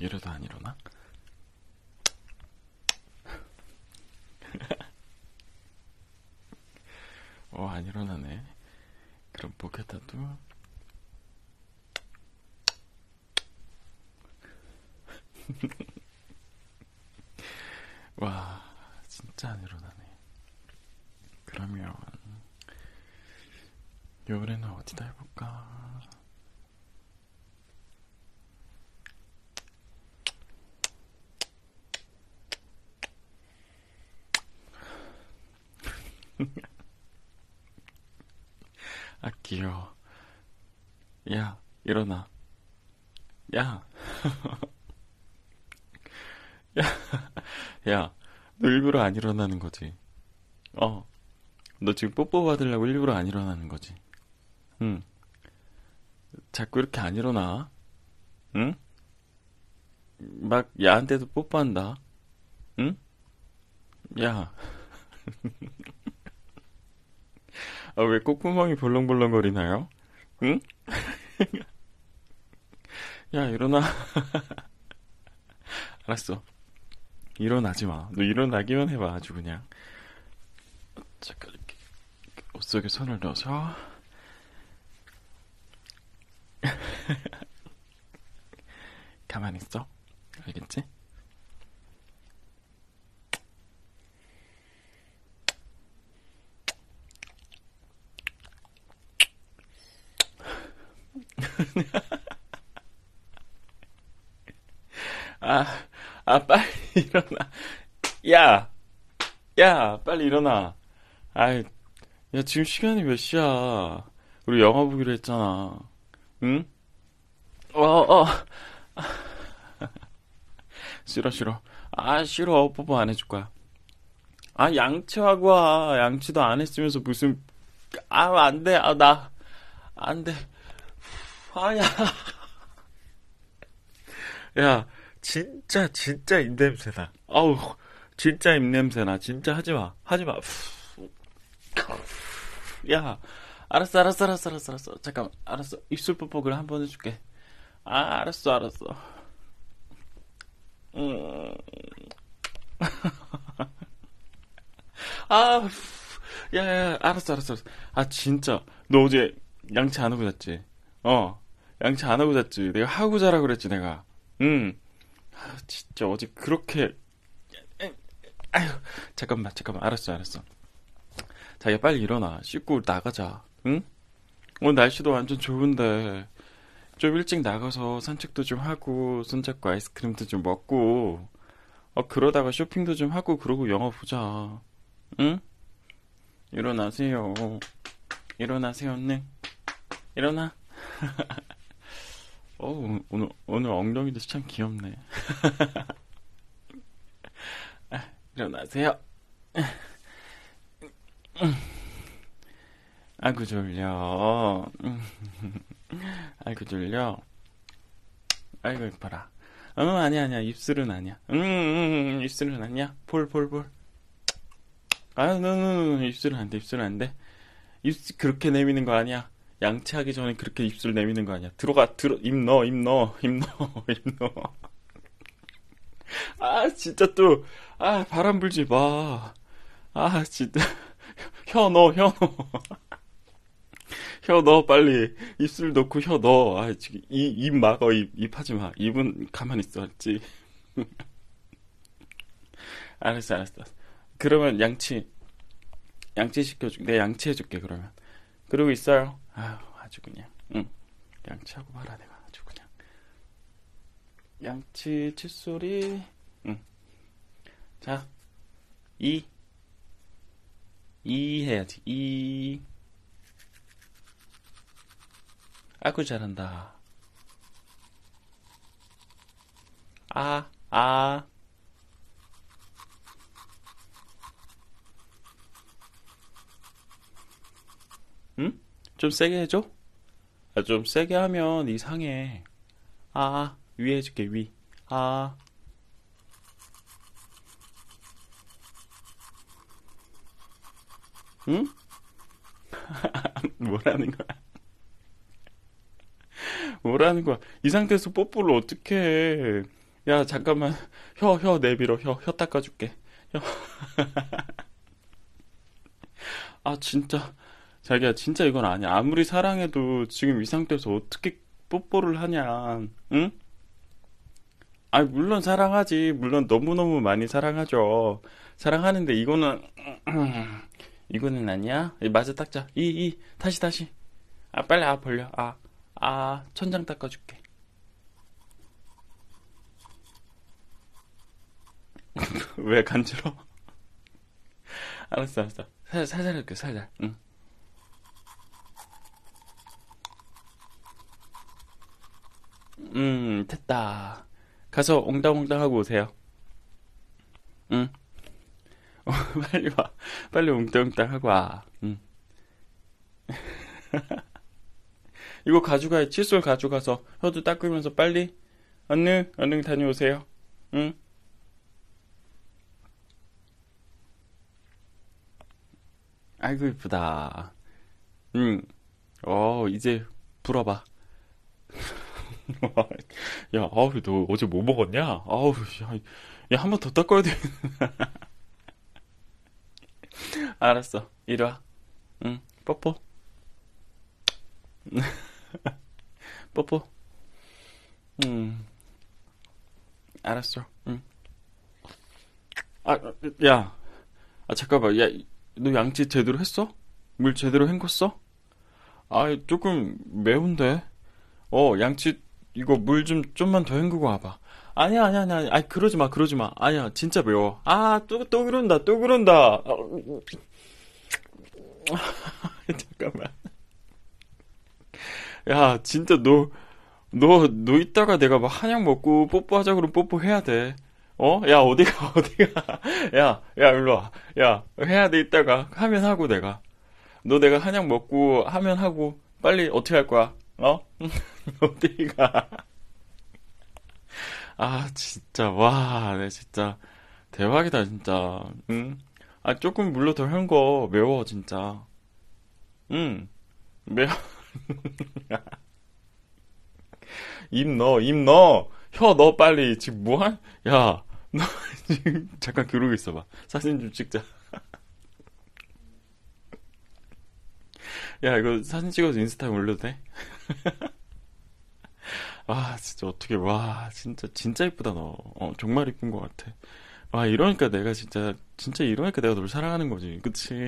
이러다 안 일어나? 안 일어나네. 그럼 포켓하도 와, 진짜 안 일어나네. 그러면 요번에는 어디다 해볼까? 아, 귀여워. 야, 일어나. 야, 야, 야, 너 일부러 안 일어나는 거지? 너 지금 뽀뽀 받으려고 일부러 안 일어나는 거지? 응. 자꾸 이렇게 안 일어나? 응? 막 야한테도 뽀뽀한다. 응? 야, 왜 콧구멍이 벌렁벌렁거리나요? 응? 야, 일어나. 알았어. 일어나지 마. 너 일어나기만 해봐, 아주 그냥. 잠깐, 이렇게 옷 속에 손을 넣어서. 가만히 있어. 알겠지? 아, 빨리 일어나. 야, 야, 빨리 일어나. 아이, 야, 지금 시간이 몇 시야? 우리 영화 보기로 했잖아. 응? 어. 싫어, 싫어. 싫어. 뽀뽀 안 해줄 거야. 양치하고 와. 양치도 안 했으면서 무슨, 안 돼. 안 돼. 야. 야, 진짜 입냄새나. 아우, 진짜 입냄새나. 진짜 하지 마. 하지 마. 야, 알았어. 잠깐만, 알았어. 입술 뽀뽀를 한 번 해줄게. 알았어. 음, 아, 야, 알았어. 진짜. 너 어제 양치 안 하고 잤지? 양치 안 하고 잤지? 내가 하고 자라 그랬지, 내가. 응. 진짜 어제 그렇게. 아휴, 잠깐만. 알았어. 자기야, 빨리 일어나. 씻고 나가자. 응? 오늘 날씨도 완전 좋은데. 좀 일찍 나가서 산책도 좀 하고, 손잡고 아이스크림도 좀 먹고, 그러다가 쇼핑도 좀 하고, 그러고 영화 보자. 응? 일어나세요. 일어나세요, 네. 일어나. 오늘 엉덩이도 참 귀엽네. 일어나세요. 아이고, 졸려. 아이고, 졸려. 아이고, 이뻐라. 아니야. 입술은 아니야. 입술은 아니야. 볼. 노. 입술은 안 돼. 입술 그렇게 내미는 거 아니야. 양치하기 전에 그렇게 입술 내미는 거 아니야. 입 넣어. 입 넣어. 진짜 또, 바람 불지 마. 진짜. 혀 넣어. 혀 넣어, 빨리. 입술 넣고 혀 넣어. 지금, 입 막어, 입 하지 마. 입은 가만히 있어, 알지? 알았어. 그러면 양치 시켜줄게. 내가 양치해줄게, 그러면. 그러고 있어요. 아주 그냥. 응. 양치하고 말아, 내가 아주 그냥. 양치, 칫솔이. 응. 자, 이. 이 해야지. 이. 아이고, 잘한다. 아, 아. 응? 좀 세게 해줘? 좀 세게 하면 이상해. 위 해줄게, 위. 아, 응? 뭐라는 거야? 뭐라는 거야? 이 상태에서 뽀뽀를 어떻게 해? 야, 잠깐만. 혀 내밀어. 혀 닦아줄게. 혀. 아, 진짜. 자기야, 진짜 이건 아니야. 아무리 사랑해도 지금 이 상태에서 어떻게 뽀뽀를 하냐. 응? 아, 물론 사랑하지. 물론 너무너무 많이 사랑하죠. 사랑하는데 이거는, 이거는 아니야? 마저 닦자. 다시. 아, 빨리, 벌려. 천장 닦아줄게. 왜 간지러? 알았어. 살살 할게, 살살. 응. 됐다. 가서 옹당옹당 하고 오세요. 응. 빨리 와. 빨리 옹당옹당 하고 와. 응. 이거 가져가, 칫솔 가져가서 혀도 닦으면서 빨리, 얼른 다녀오세요. 응? 아이고, 이쁘다. 응. 이제 불어봐. 야, 너 어제 뭐 먹었냐? 야, 한 번 더 닦아야 돼. 알았어. 이리 와. 응, 뽀뽀. 뽀뽀. 응, 알았어. 응. 아, 야, 잠깐만. 야, 너 양치 제대로 했어? 물 제대로 헹궜어? 조금 매운데? 양치, 이거 물 좀만 더 헹구고 와봐. 아니야. 그러지 마. 아니야, 진짜 매워. 또 그런다. 잠깐만. 야, 진짜 너 이따가 내가 막 한약 먹고 뽀뽀하자 그러면 뽀뽀해야 돼. 야, 어디가. 야, 일로 와. 야, 해야 돼, 이따가. 하면 하고 내가. 너 내가 한약 먹고 하면 하고, 빨리 어떻게 할 거야? 어디가. 진짜, 와, 내 진짜. 대박이다, 진짜. 응? 조금 물로 더 헹궈. 매워, 진짜. 응, 매워. 입 넣어. 혀 넣어, 빨리. 지금 뭐한? 야, 너 지금 잠깐 그러고 있어봐. 사진 좀 찍자. 야, 이거 사진 찍어서 인스타에 올려도 돼? 진짜 어떻게, 와, 진짜 이쁘다, 너. 정말 이쁜 것 같아. 이러니까 내가 진짜 이러니까 내가 널 사랑하는 거지. 그치?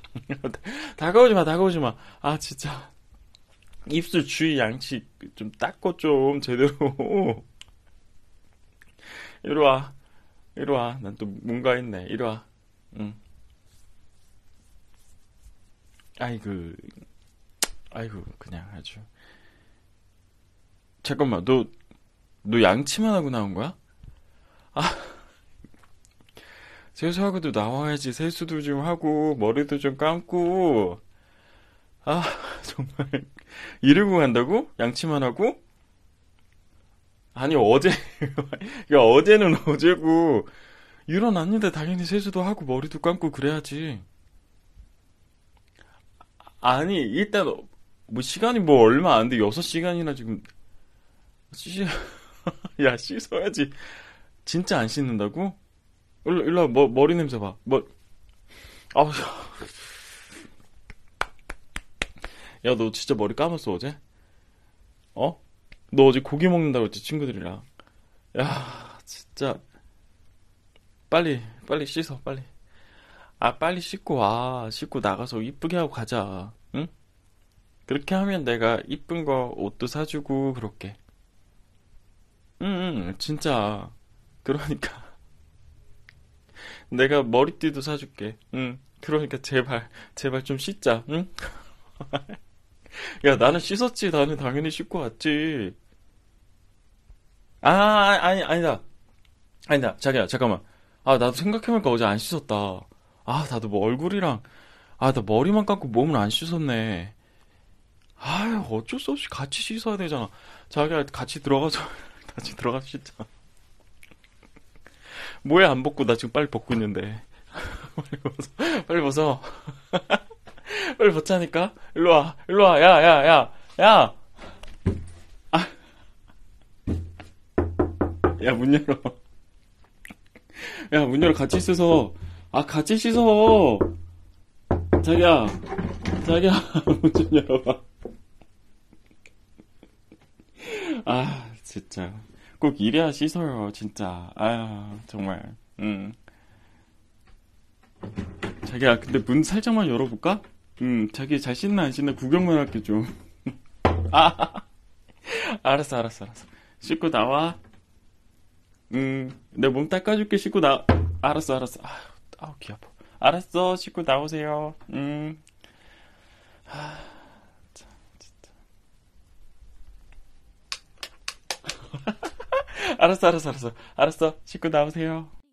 다가오지 마. 진짜. 입술 주위 양치 좀 닦고 좀 제대로. 이리 와. 이리 와. 난 또 뭔가 있네. 이리 와. 응. 아이고, 그냥 아주. 잠깐만, 너 양치만 하고 나온 거야? 세수하고도 나와야지. 세수도 좀 하고, 머리도 좀 감고. 아, 정말. 이러고 간다고? 양치만 하고? 아니, 어제, 야, 어제는 어제고, 일어났는데 당연히 세수도 하고, 머리도 감고 그래야지. 아니, 일단, 뭐, 시간이 뭐 얼마 안 돼. 6시간이나 지금, 씻, 야, 씻어야지. 진짜 안 씻는다고? 일로 와, 머리 냄새 봐. 아우, 야, 너 진짜 머리 감았어, 어제? 어? 너 어제 고기 먹는다고 했지, 친구들이랑. 야, 진짜. 빨리 씻어, 빨리. 빨리 씻고 와. 씻고 나가서 이쁘게 하고 가자. 응? 그렇게 하면 내가 이쁜 거 옷도 사주고, 그렇게. 응, 진짜. 그러니까. 내가 머리띠도 사줄게. 응. 그러니까 제발 좀 씻자. 응? 야, 나는 씻었지. 나는 당연히 씻고 왔지. 아니다. 아니다. 자기야, 잠깐만. 나도 생각해보니까 어제 안 씻었다. 나도 뭐 얼굴이랑, 나 머리만 감고 몸을 안 씻었네. 어쩔 수 없이 같이 씻어야 되잖아. 자기야, 같이 들어가서, 같이 들어가서 씻자. 뭐야, 안 벗고, 나 지금 빨리 벗고 있는데. 빨리 벗어. 빨리 벗어. 빨리 벗자니까? 일로 와, 야. 야, 문 열어. 야, 문 열어. 같이 씻어. 아, 같이 씻어. 자기야, 자기야, 문 좀 열어봐. 아, 진짜. 꼭 이래야 씻어요, 진짜. 아, 정말. 자기야, 근데 문 살짝만 열어볼까? 자기 잘 씻나 안 씻나 구경만 할게 좀. 아, 알았어, 알았어, 알았어. 씻고 나와. 내 몸 닦아줄게, 씻고 알았어, 알았어. 아, 아우, 귀 아파. 알았어, 씻고 나오세요. 참, 진짜. 알았어, 알았어, 알았어. 알았어, 씻고 나오세요.